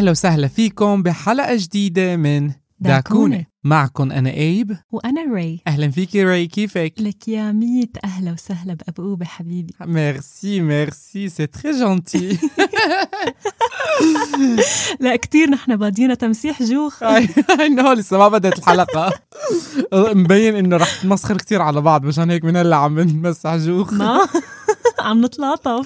أهلا وسهلا فيكم بحلقة جديدة من داكونة. معكم أنا أيب وأنا ري. أهلا فيكي ري، كيفك؟ لك يا ميت أهلا وسهلا بأبوبة حبيبي. ميرسي سي تري جونتي. لا كتير نحن بادينا تمسيح جوخ. إنه لسه ما بدأت الحلقة. مبين إنه رح نمسخر كتير على بعض، مشان هيك من هلا عم نمسح جوخ. ما عم نتلاطف.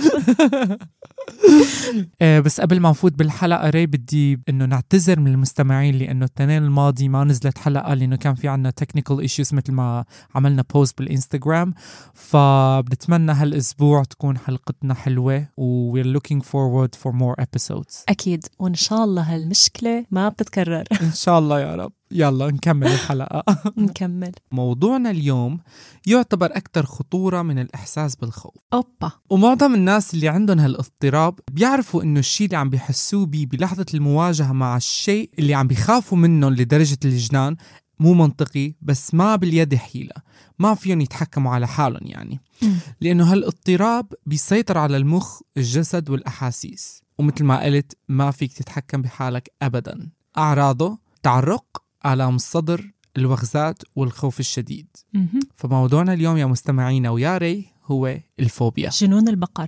بس قبل ما نفوت بالحلقة ري بدي إنه نعتذر من المستمعين لأنه التنين الماضي ما نزلت حلقة لأنه كان في عنا technical issues مثل ما عملنا بوست بالإنستغرام. فبنتمنى هالأسبوع تكون حلقتنا حلوة و we're looking forward for more episodes. أكيد، وإن شاء الله هالمشكلة ما بتتكرر. إن شاء الله يا رب. يلا نكمل الحلقة. نكمل. موضوعنا اليوم يعتبر أكثر خطورة من الإحساس بالخوف. أوبا. ومعظم الناس اللي عندهم هالاضطراب بيعرفوا إنه الشيء اللي عم بيحسوه بيه بلحظة المواجهة مع الشيء اللي عم بيخافوا منه لدرجة الجنان مو منطقي، بس ما باليد حيلة، ما فيهم يتحكموا على حالهم يعني. لأنه هالاضطراب بيسيطر على المخ، الجسد والأحاسيس، ومثل ما قلت ما فيك تتحكم بحالك أبدا. أعراضه تعرق، آلام الصدر، الوغزات والخوف الشديد. فموضوعنا اليوم يا مستمعينا ويا ري هو الفوبيا، جنون البقر.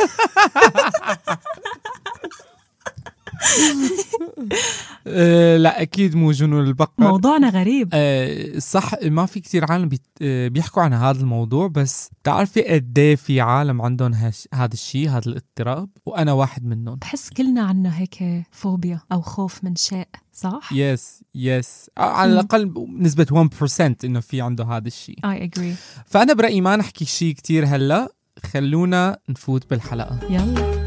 لا أكيد مو جنون البقر. موضوعنا غريب. صح، ما في كتير عالم بيحكوا عن هذا الموضوع، بس تعرفي قديه في عالم عندهم هذا الشيء، هذا الاضطراب، وأنا واحد منهم. بحس كلنا عنا هيك فوبيا أو خوف من شيء، صح؟ يس على الأقل نسبة 1% إنه في عنده هذا الشيء. I agree. فأنا برأيي ما نحكي شيء كتير هلأ، خلونا نفوت بالحلقة. يلا.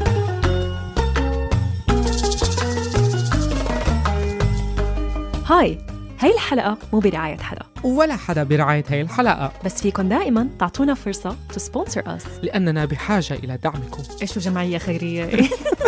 هاي الحلقة مو برعاية حدا ولا حدا برعاية هاي الحلقة، بس فيكن دائما تعطونا فرصة to sponsor us لأننا بحاجة إلى دعمكم. إيش جمعية خيرية.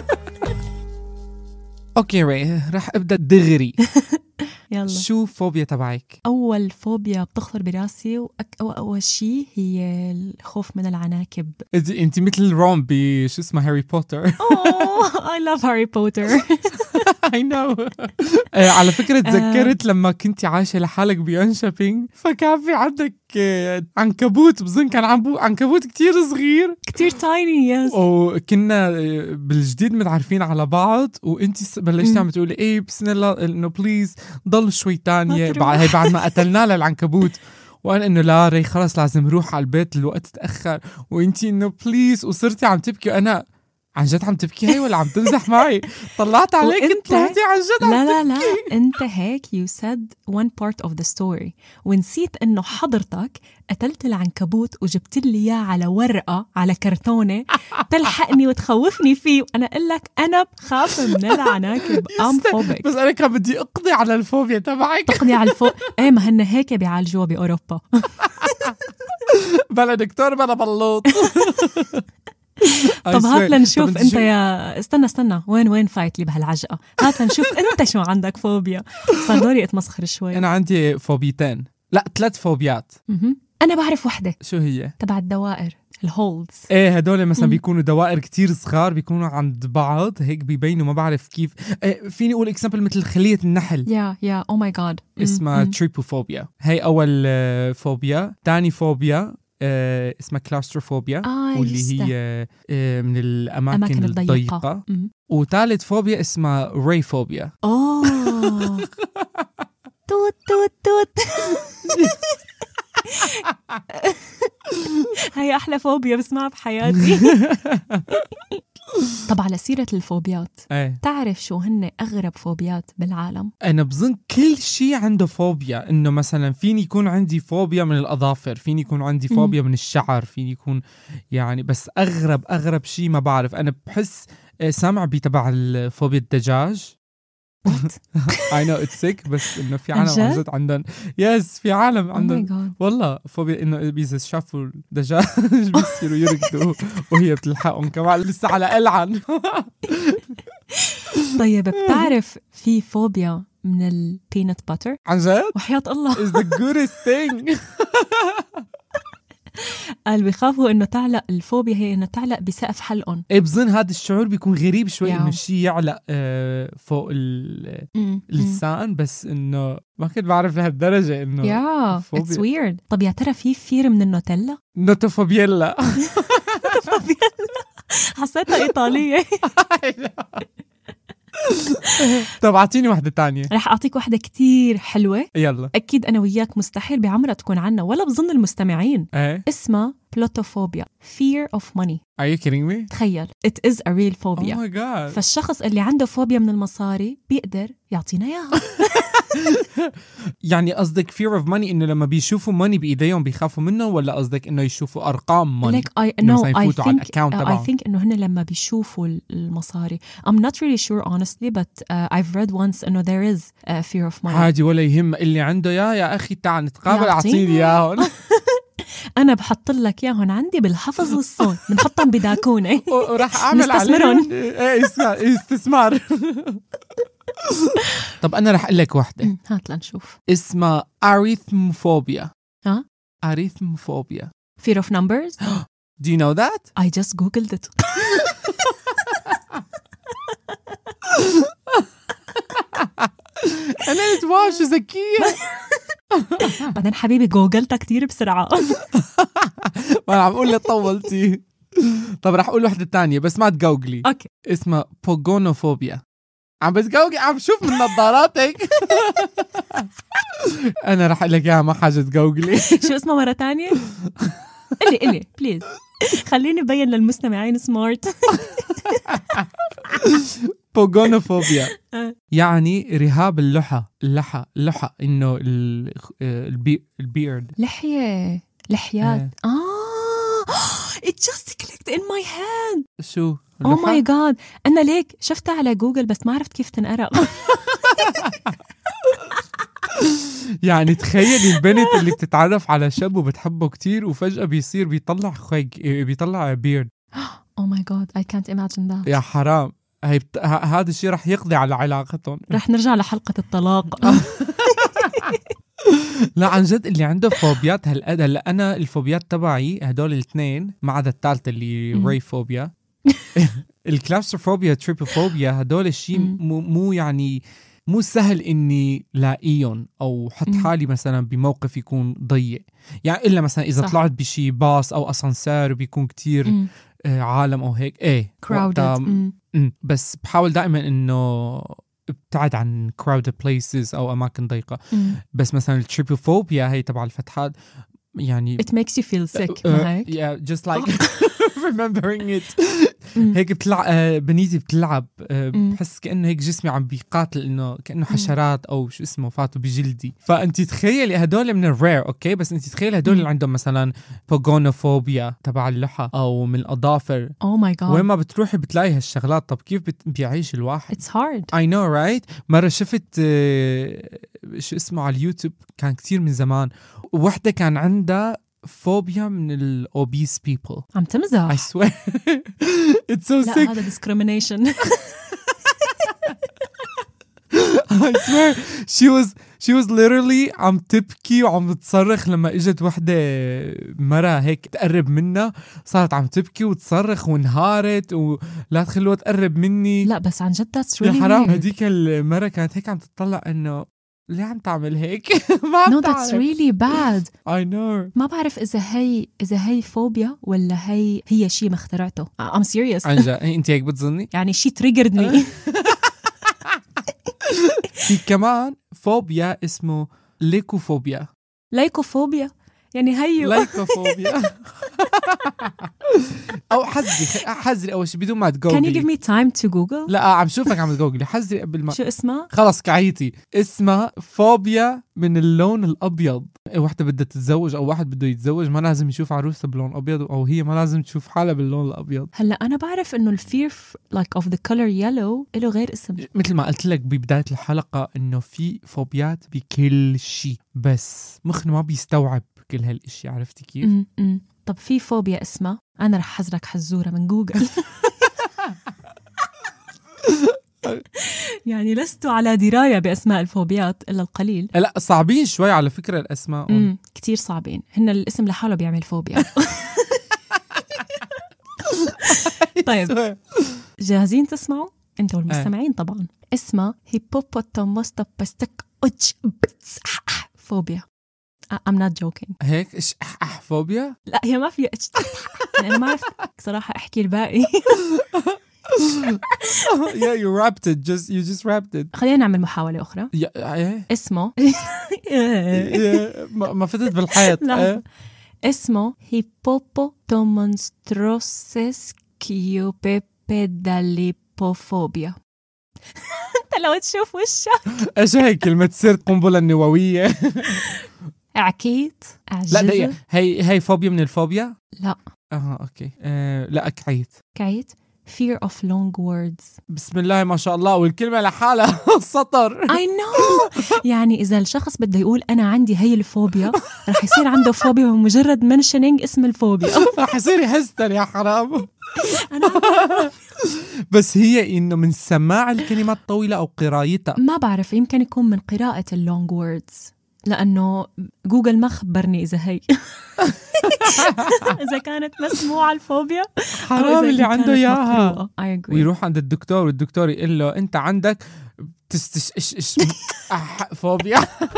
أوكي ري، رح أبدأ دغري. يلا. شو فوبيا تبعك؟ أول فوبيا بتخطر براسي أول شيء هي الخوف من العناكب. أنت مثل روم بشو اسمه هاري بوتر. I love Harry Potter. I know. على فكرة تذكرت لما كنت عايشة لحالك بينشابينج، فكان في عندك عنكبوت، بظن كان عنكبوت كتير صغير، كتير tiny. yes. وكنا بالجديد متعرفين على بعض، وانتي بلشتي عم تقولي ايه بسم الله انه بليز ضل شوي تانية بعد ما قتلنا للعنكبوت. وانا انه لا ري خلاص لازم روح على البيت الوقت تأخر، وانتي انه بليز، وصرتي عم تبكي. وانا عن جد عم تبكي هي ولا عم تمزح معي؟ طلعت عليك انت طلعتي عن جد عم لا انت هيك you said one part of the story ونسيت انه حضرتك قتلت العنكبوت وجبت لي اياه على ورقه على كرتونه تلحقني وتخوفني فيه، وانا اقول لك انا بخاف من العناكب فوبيك. بس انا كان بدي اقضي على الفوبيا تبعك. تقضي على ايه ما هن هيك بيعالجوها باوروبا. بلا دكتور بلا بلوط. طب هات لنشوف انت يا استنى وين فايت لي بهالعجقه. هات لنشوف انت شو عندك فوبيا. صار دوري اتمسخر شوي. انا عندي فوبيتين، لا 3 فوبيات. انا بعرف وحده. شو هي؟ تبع الدوائر، الهولدز. ايه هدول مثلا بيكونوا دوائر كتير صغار، بيكونوا عند بعض هيك بيبينوا، ما بعرف كيف. فيني اقول اكزامبل مثل خلية النحل. يا او ماي جاد. اسمها تريبوفوبيا. هي اول فوبيا. تاني فوبيا اسمها كلاستروفوبيا، واللي هي من الأماكن الضيقة. وثالث فوبيا اسمها ريفوبيا. توت توت توت. هي أحلى فوبيا بسمعها بحياتي. طب على سيرة الفوبيات، تعرف شو هن أغرب فوبيات بالعالم؟ أنا بظن كل شيء عنده فوبيا. إنه مثلا فيني يكون عندي فوبيا من الأظافر، فيني يكون عندي فوبيا من الشعر، فيني يكون يعني، بس أغرب شيء ما بعرف. أنا بحس سامع بتبع الفوبيا الدجاج. I know it's sick، بس إنه في عالم عن جد عندهم. يس في عالم عندهم والله فوبيا إنه إذا شافوا الدجاج بيصيروا يركضوا وهي بتلحقهم كمان لسه على ألعن. طيب بتعرف في فوبيا من البينات باتر؟ عن جد؟ وحياة الله is the goodest thing. قال بيخافوا إنه تعلق، الفوبيا هي إنه تعلق بسقف حلقهم. إيه بظن هذا الشعور بيكون غريب شوي ياو. إنه الشيء يعلق فوق اللسان، بس إنه ما كنت بعرف لهالدرجة إنه يا it's weird. طب يا ترى في فير من النوتيلا؟ نوتوفوبيلا. حسيتها إيطالية. طب أعطيني واحدة تانية. رح أعطيك واحدة كتير حلوة. يلا. أكيد أنا وياك مستحيل بعمرها تكون عنا ولا بظن المستمعين. اسمها بلوتوفوبيا. Fear of money. Are you kidding me? تخيل it is a real phobia. Oh my god. فالشخص اللي عنده فوبيا من المصاري بيقدر يعطينا إياها. يعني قصدك fear of money إنه لما بيشوفوا money بإيديهم بيخافوا منه، ولا قصدك إنه يشوفوا أرقام money؟ like I think إنه هن لما بيشوفوا المصاري. I'm not really sure honestly but I've read once إنه there is fear of money. عادي ولا يهم، اللي عنده يا أخي تعال نتقابل أعطيني إياهم. أنا بحط لك إياهم عندي بالحفظ والصون، بنحطهم بداكونة وراح أعمل عليهم استثمار. طب أنا راح أقول لك واحدة. هات لنشوف. اسمها arithmophobia. ها؟ arithmophobia. Fear of numbers. Do you know that? I just googled it. أنا نتواش ذكية. بعدين حبيبي جوجلتها كتير بسرعة. ما عم أقول لك طولتي. طب راح أقول واحدة تانية بس ما تجوجلي. أوكي. اسمها pogonophobia. عم بتجوجي، عم شوف من نظاراتك. أنا راح أقول لك إياها، ما حاجة تجوجلي. شو اسمها مرة تانية؟ قلي بليز، خليني أبين للمستمعين سمارت. pogonophobia يعني رهاب اللحى إنه البيرد. لحيات. It just clicked in my head. شو؟ Oh my god. أنا ليك شفتها على جوجل بس ما عرفت كيف تنقرأ. يعني تخيلي البنت اللي بتتعرف على شاب وبتحبه كتير وفجأة بيطلع بيرد. Oh my god I can't imagine that. يا حرام، هذا الشيء رح يقضي على علاقتهم. رح نرجع لحلقة الطلاق. لا عن جد اللي عنده فوبيات هلا أنا الفوبيات تبعي هدول الاثنين ما عدا الثالثة اللي ري فوبيا. الكلاستروفوبيا تريبوفوبيا هدول الشيء مو يعني مو سهل إني لاقيهم أو حط حالي مثلا بموقف يكون ضيق، يعني إلا مثلا إذا طلعت بشي باص أو أسانسير بيكون كتير عالم أو هيك crowded. بس بحاول دائما إنه ابتعد عن crowded places أو أماكن ضيقة. بس مثلا التريبوفوبيا هي تبع الفتحات يعني it makes you feel sick. yeah just like remembering it. هيك بنيتي بتلعب، بحس كأنه هيك جسمي عم بيقاتل، إنه كأنه حشرات أو شو اسمه فاتوا بجلدي. فأنت تخيلي هدول من الرير أوكي، بس أنت تخيلي هدول اللي عندهم مثلا pogonophobia تبع اللحى أو من الأظافر. oh my god وين ما بتروحي بتلاقي هالشغلات. طب كيف بيعيش الواحد؟ it's hard. I know right. مرة شفت شو اسمه على اليوتيوب، كان كتير من زمان، وحدة كان عندها فوبيا من الأوبيس people. عم تمزح. I swear. It's so sick. لا هذا discrimination. I swear she was literally عم تبكي وعم تصرخ لما اجت وحدة مرة هيك تقرب منها، صارت عم تبكي وتصرخ وانهارت ولا تخلوها تقرب مني. لا بس عن جد that's really يا حرام. weird. هديك المرة كانت هيك عم تطلع انه ليه عم تعمل هيك. ما عم no that's really bad. I know. ما بعرف إذا هي فوبيا ولا هي شيء ما اخترعته. I'm serious. عن جد انت هيك بتظني؟ يعني شيء triggered me. في كمان فوبيا اسمه ليكوفوبيا. لايكوفوبيا يعني هيو. لايكوفوبيا. أو حذري أول شيء بدون ما تجوجلي. Can you give me time to Google؟ لا عم شوفك عم تجوجلي. حذري قبل ما. شو اسمها؟ خلص كعيتي. اسمها فوبيا من اللون الأبيض. واحدة بدها تتزوج أو واحد بده يتزوج ما لازم يشوف عروسة بلون أبيض، أو هي ما لازم تشوف حالها باللون الأبيض. هلا أنا بعرف إنه الفير like of the color yellow له غير اسم. مثل ما قلت لك ببداية الحلقة إنه في فوبيات بكل شيء، بس مخنا ما بيستوعب كل هالاشي. عرفتي كيف؟ طب في فوبيا اسمها، أنا رح حزرك حزورة من جوجل. يعني لست على دراية بأسماء الفوبيات إلا القليل. لا صعبين شوي على فكرة الأسماء. كتير صعبين، هن الاسم لحاله بيعمل فوبيا. طيب جاهزين تسمعوا انتوا والمستمعين؟ طبعا اسمها هيبوبوتاموستوبستك فوبيا. I'm not joking. هيك فوبيا؟ لا هي ما فيها أنا ما عرفت صراحة أحكي الباقي. Yeah, you rapped it. You just rapped it. خلينا نعمل محاولة أخرى. اسمه ما فتت بالحيط. اسمه هيبوبوتامونستروسسكيوبيبيداليبوفوبيا. انت لو تشوف وشك ايش هي كلمة تصير قنبلة نووية. عكيت لا دقيقة، هي فوبيا من الفوبيا؟ لا اوكي. لا كعيت fear of long words. بسم الله ما شاء الله، والكلمة لحالها سطر. I know. يعني إذا الشخص بده يقول أنا عندي هي الفوبيا رح يصير عنده فوبيا بمجرد mentioning اسم الفوبيا. رح يصير يهستر يا حرام. بس هي إنه من سماع الكلمات الطويلة أو قرايتها؟ ما بعرف، يمكن يكون من قراءة اللونج ووردز، لأنه جوجل ما خبرني إذا هي إذا كانت مسموعة الفوبيا حرام اللي عنده إياها. ويروح عند الدكتور والدكتور يقول له أنت عندك فوبيا.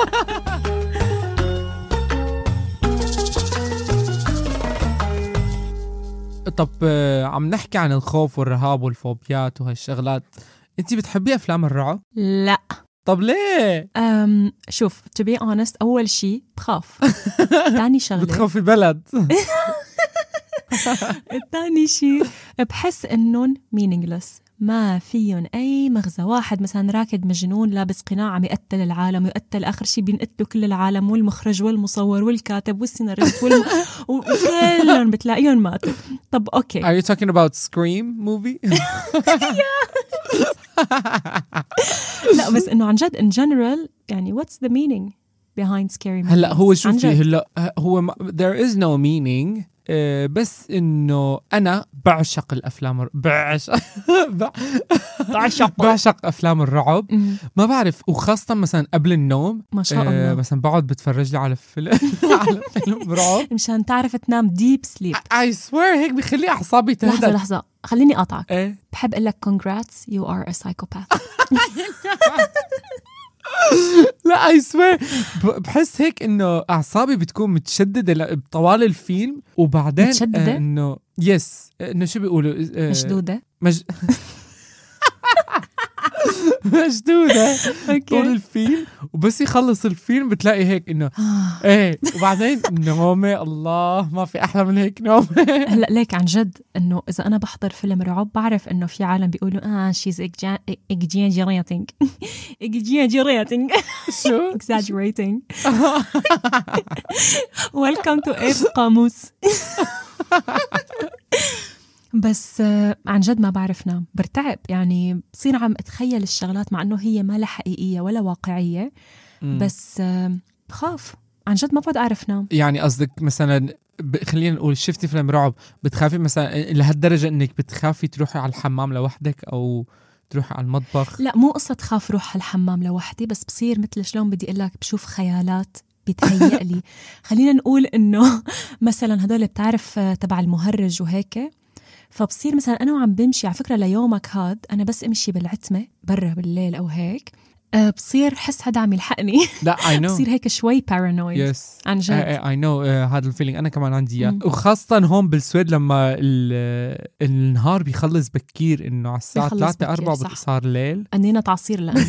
طب عم نحكي عن الخوف والرهاب والفوبيات وهالشغلات، أنتي بتحبي أفلام الرعب؟ لا. طب ليه؟ شوف to be honest، أول شيء بخاف. ثاني شغلة بتخافي بلد. الثاني شيء بحس إنهم meaningless، ما فيهم أي مغزى. واحد مثلا راكد مجنون لابس قناع عم يقتل العالم، يقتل آخر شيء بينقتلوا كل العالم، والمخرج والمصور والكاتب والسيناريست وكلهم بتلاقيهم ماتوا. طب أوكي. Are you talking about Scream movie؟ لا بس إنه عن جد in general يعني what's the meaning behind scary movies؟ هلا هو شوفي، هلا هو there is no meaning. بس إنه أنا بعشق الأفلام بعشق أفلام الرعب. ما بعرف، وخاصة مثلا قبل النوم ما شاء الله مثلا بقعد بتفرج لي على فيلم على فيلم رعب مشان تعرف تنام deep sleep. I swear هيك بيخلي أعصابي تهدى. لحظة خليني أقطعك. بحب أقول لك congrats you are a psychopath. لا I swear بحس هيك إنه أعصابي بتكون متشددة طوال الفيلم، وبعدين إنه يس إنه شو بيقولوا مشدودة مشدودة طول الفيلم، وبس يخلص الفيلم بتلاقي هيك إنه إيه، وبعدين نومة الله ما في أحلى من هيك نومة. هلأ ليك عن جد إنه إذا أنا بحضر فيلم رعب بعرف إنه في عالم بيقولوا she's exaggerating شو exaggerating. welcome to إيرس قاموس. بس عن جد ما بعرف نام، برتعب، يعني بصير عم أتخيل الشغلات مع أنه هي ما لها حقيقية ولا واقعية. بس بخاف عن جد، ما بعد أعرف نام. يعني قصدك مثلا خلينا نقول شفتي فيلم رعب بتخافي مثلا لهالدرجة أنك بتخافي تروحي على الحمام لوحدك أو تروحي على المطبخ؟ لا مو قصة خاف روح على الحمام لوحدي، بس بصير مثل شلون بدي أقول لك، بشوف خيالات بيتهيأ لي. خلينا نقول إنه مثلا هدول بتعرف تبع المهرج وهيك، فبصير مثلا أنا وعم بمشي، على فكرة ليومك هاد أنا بس أمشي بالعتمة برا بالليل أو هيك، بصير حس حدا عم يلحقني. لا I know. بصير هيك شوي paranoid. yes. عن جد I know هذا الفيلينج أنا كمان عندي إياه، وخاصة هون بالسويد لما النهار بيخلص بكير، إنه على الساعة 3-4 صار ليل. أنينا تعصير لأنه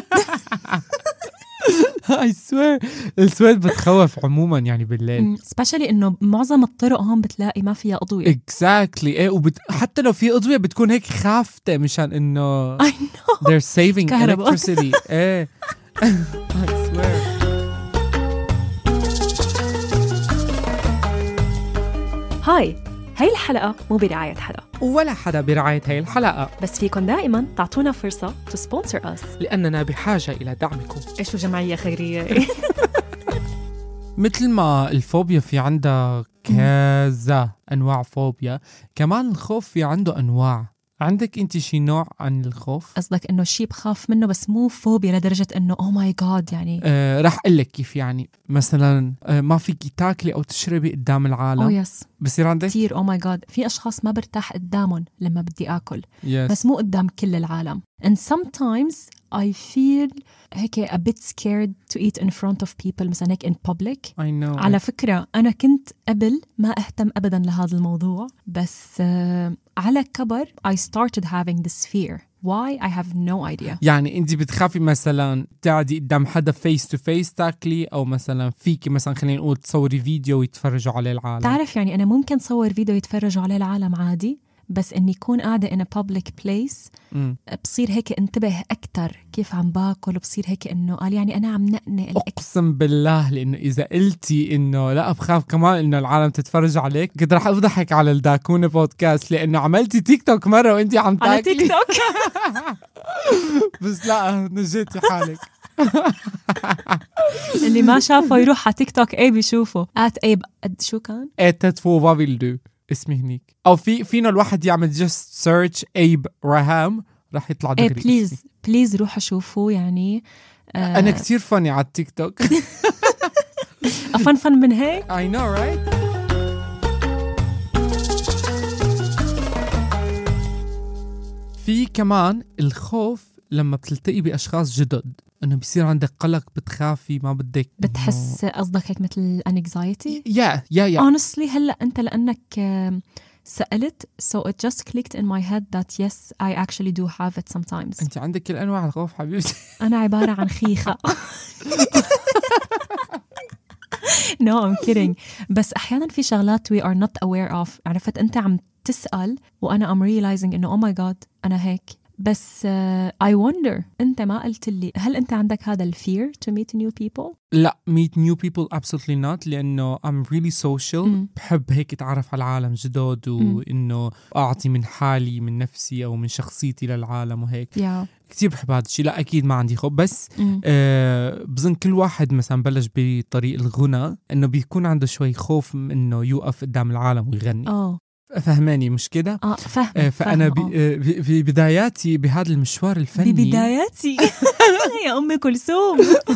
I swear السويد بتخوف عموما يعني بالليل، especially إنه معظم الطرق هون بتلاقي ما فيها أضوية. exactly. إيه حتى لو في أضوية بتكون هيك خافتة مشان إنه I know they're saving electricity. إيه I swear. هاي الحلقة مو برعاية حدا ولا حدا برعاية هاي الحلقة، بس فيكن دائما تعطونا فرصة to sponsor us لأننا بحاجة إلى دعمكم. إيش جمعية خيرية. مثل ما الفوبيا في عندها كذا أنواع فوبيا، كمان الخوف في عنده أنواع. عندك انت شي نوع عن الخوف؟ قصدك انه شيء بخاف منه بس مو فوبيا لدرجة انه او ماي جاد يعني. رح اقول لك كيف يعني. مثلا ما فيكي تاكلي او تشربي قدام العالم. يس بصير عندك كتير او ماي جاد. في اشخاص ما برتاح قدامهم لما بدي اكل. yes. بس مو قدام كل العالم. And sometimes I feel هيك a bit scared to eat in front of people مثلا هيك in public. I know. على فكرة أنا كنت قبل ما أهتم أبداً لهذا الموضوع بس على كبر I started having this fear. Why? I have no idea. يعني انت بتخافي مثلا تقعدي قدام حدا face to face تاكلي، او مثلا فيكي مثلا خلينا نقول تصوري فيديو ويتفرجوا عليه العالم؟ تعرف يعني أنا ممكن صور فيديو يتفرجوا عليه العالم عادي، بس إني يكون قاعدة in a public place بصير هيك انتبه أكتر كيف عم باكل، بصير هيك إنه قال يعني أنا عم نقنق. أقسم بالله لأنه إذا قلتي إنه لا بخاف كمان إنه العالم تتفرج عليك كنت رح أفضحك على الداكونة بودكاست، لأنه عملتي تيك توك مرة وإنتي عم تاكلي على تيك توك. بس لا نجيتي حالك. اللي ما شافه يروح على تيك توك ايه بيشوفه @ايب شو كان تتفو بابيلدو اسمي هنيك، او فينا الواحد يعمل just search ايب رهام رح يطلع دغري. بليز روحوا شوفوا يعني. انا كتير فني على التيك توك. افن من هيك. I know right. في كمان الخوف لما بتلتقي باشخاص جدد، انه بيصير عندك قلق، بتخافي، ما بدك بتحس قصدك هيك مثل anxiety. yeah. honestly هلا انت لانك سألت so it just clicked in my head that yes I actually do have it sometimes. انت عندك كل انواع الخوف حبيبتي. انا عبارة عن خيخة. no I'm kidding. بس احيانا في شغلات we are not aware of. عرفت انت عم تسأل وانا I'm realizing انه oh my god انا هيك. بس I wonder أنت ما قلت لي هل أنت عندك هذا الفير to meet new people؟ لا meet new people absolutely not، لأنه I'm really social. بحب هيك أتعرف على العالم جدد وإنه أعطي من حالي من نفسي أو من شخصيتي للعالم وهيك. كتير بحب هذا الشيء. لا أكيد ما عندي خوف، بس بظن كل واحد مثلا بلش بطريق الغنى إنه بيكون عنده شوي خوف إنه يوقف قدام العالم ويغني. فهماني مش كده؟ فهم. فأنا ببداياتي بهذا المشوار الفني ببداياتي يا أمي كلثوم.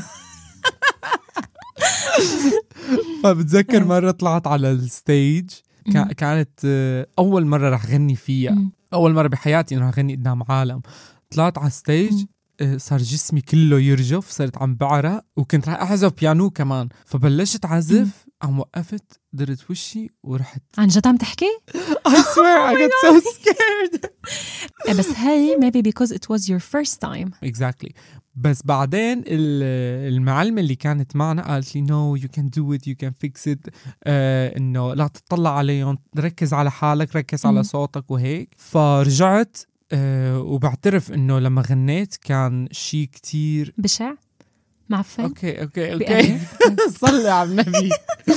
فبتذكر مرة طلعت على الستيج كانت أول مرة رح غني فيها، أول مرة بحياتي إنه غني قدام عالم. طلعت على الستيج صار جسمي كله يرجف، صرت عم بعرق وكنت رح أعزف بيانو كمان. فبلشت عزف، عم وقفت درت وشي ورحت. عن جد عم تحكي؟ I swear I got so scared. بس هاي maybe because it was your first time. Exactly. بس بعدين المعلمة اللي كانت معنا قالت لي no you can do it you can fix it. إنه لا تطلع عليهم، ركز على حالك، ركز على صوتك وهيك. فرجعت وبعترف إنه لما غنيت كان شيء كتير بشع معفن. اوكي صلي على النبي.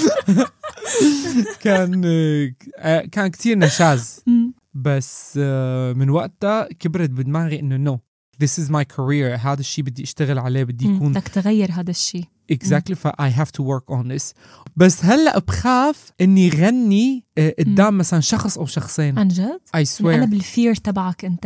كان كتير نشاز. بس من وقتها كبرت بدماغي انه no this is my career، هذا الشيء بدي اشتغل عليه، بدي يكون بدك تغير هذا الشيء. exactly ف I have to work on this. بس هلأ بخاف اني غني قدام مثلا شخص او شخصين. عن جد؟ I swear. أنا بالفير تبعك انت.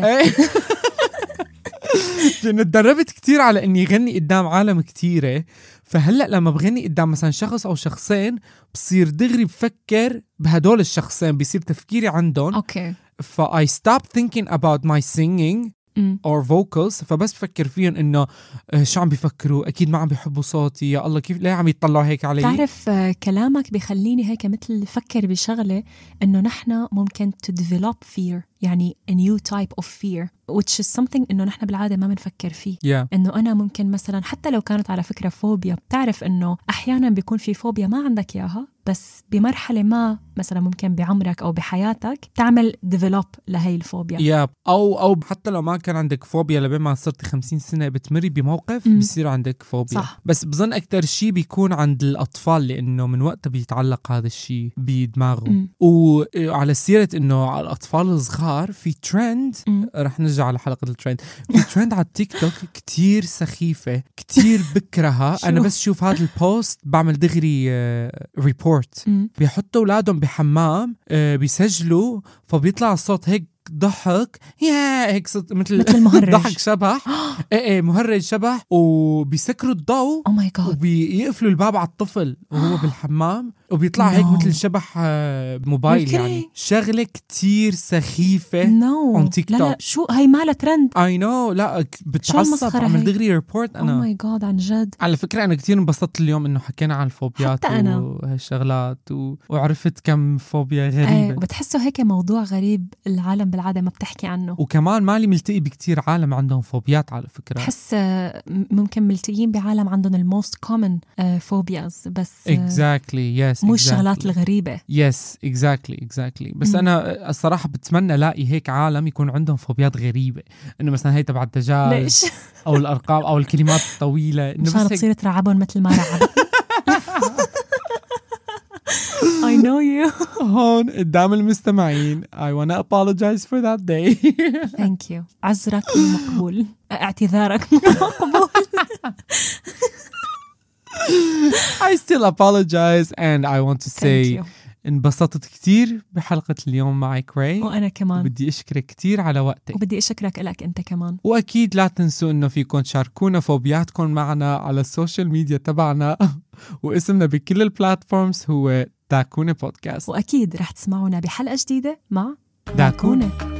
لأنه تدربت كتير على إني غني قدام عالم كتيرة. فهلأ لما بغني قدام مثلا شخص أو شخصين بصير دغري بفكر بهدول الشخصين، بيصير تفكيري عندهم. I stop thinking about my singing or vocals. فبس بفكر فيهم إنه شو عم بيفكروا، أكيد ما عم بيحبوا صوتي، يا الله كيف ليه عم يطلعوا هيك علي. تعرف كلامك بيخليني هيك مثل فكر بشغلة إنه نحنا ممكن to develop fear، يعني a new type of fear which is something إنه نحنا بالعادة ما بنفكر فيه. إنه أنا ممكن مثلا حتى لو كانت على فكرة فوبيا، بتعرف إنه أحيانا بيكون في فوبيا ما عندك إياها بس بمرحلة ما مثلا ممكن بعمرك أو بحياتك تعمل develop لهي الفوبيا. أو حتى لو ما كان عندك فوبيا لبين ما صرت 50 سنة بتمري بموقف بيصير عندك فوبيا. صح. بس بظن أكتر شيء بيكون عند الأطفال لأنه من وقتها بيتعلق هذا الشيء بدماغهم. وعلى سيرة إنه على الأطفال الصغار في ترند، رح نرجع على حلقة الترند. في ترند على التيك توك كتير سخيفة، كتير بكرهها. أنا بس شوف هذا البوست بعمل دغري ريبورت. بيحطوا أولادهم بحمام بيسجلوا، فبيطلع الصوت هيك ضحك يا هيك مثل المهرج. ضحك شبح. ايه مهرج شبح، وبيسكروا الضوء Oh my God. وبيقفلوا الباب على الطفل وهو بالحمام، وبيطلع هيك مثل شبح موبايل. يعني شغلة كتير سخيفة on تيك توك. لا شو هاي مالها ترند. I know. لا بتعصب، عمل دغري ريبورت أنا. Oh my God عن جد. على فكرة أنا كتير انبسطت اليوم إنه حكينا عن الفوبيات وهالشغلات وعرفت كم فوبيا غريبة. وبتحسوا هيك موضوع غريب العالم بالعادة ما بتحكي عنه. وكمان مالي ملتقي بكتير عالم عندهم فوبيات على فكرة. بحس ممكن ملتقيين بعالم عندهم الموست كومن فوبياز، بس exactly yes مو الشغلات الغريبة. yes exactly بس أنا الصراحة بتمنى لاقي هيك عالم يكون عندهم فوبيات غريبة، إنه مثلا هي تبع الدجاج. ليش؟ أو الأرقام أو الكلمات الطويلة، مشان تصير ترعبهم مثل ما رعبت. I know you. هون قدام المستمعين I wanna apologize for that day. Thank you. عذرك مقبول، اعتذارك مقبول. I still apologize and I want to say انبسطت كتير بحلقة اليوم معك راي، وأنا كمان بدي أشكرك كتير على وقتك، وبدي أشكرك لك أنت كمان. وأكيد لا تنسوا إنه فيكم تشاركونا فوبياتكم معنا على السوشيال ميديا تبعنا. واسمنا بكل البلاتفورمز هو داكونة بودكاست، وأكيد رح تسمعونا بحلقة جديدة مع داكونة.